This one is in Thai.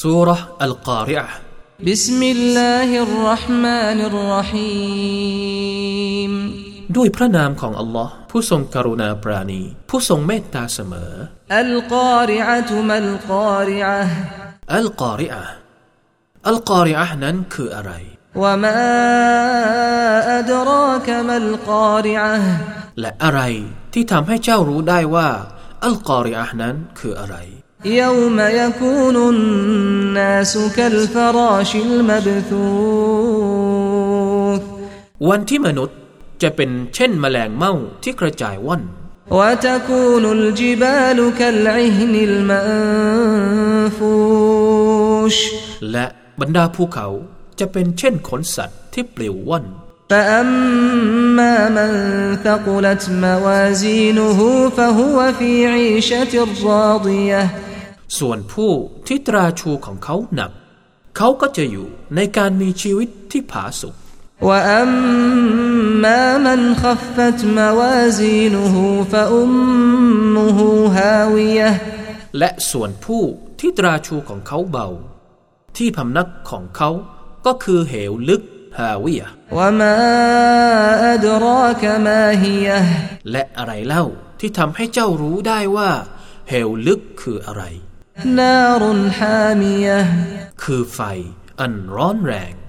ซูเราะห์อัลกอริอะห์บิสมิลลาฮิรเราะห์มานิรเราะฮีมด้วยพระนามของอัลลอฮ์ผู้ทรงกรุณาปราณีผู้ทรงเมตตาเสมออัลกอริอะตุมัลกอริอะห์อัลกอริอะห์อัลกอริอะห์นั้นคืออะไรวะมาอัดรากะมัลกอริอะห์และอะไรที่ทำให้เจ้ารู้ได้ว่าอัลกอริอะห์นั้นคืออะไร يوم يكون الناس كالفراش المبثوث วันที่มนุษย์จะเป็นเช่นแมลงเม่าที่กระจายว่อน وتكون الجبال كالعهن المنفوش และบรรดาภูเขาจะเป็นเช่นขนสัตว์ที่ปลิวว่อน فأما من ثقلت موازينه فهو في عيشة راضية ส่วนผู้ที่ตราชูของเขาหนักเขาก็จะอยู่ในการมีชีวิตที่ผาสุก وأما من خفت موازينه فأمه هاوية และส่วนผู้ที่ตราชูของเขาเบาที่พำนักของเขาก็คือเหวลึกฮาวิยะห์ وما أدراك ما هي และอะไรเล่าที่ทำให้เจ้ารู้ได้ว่าเหวลึกคืออะไร نار حامية คือไฟอันร้อนแรง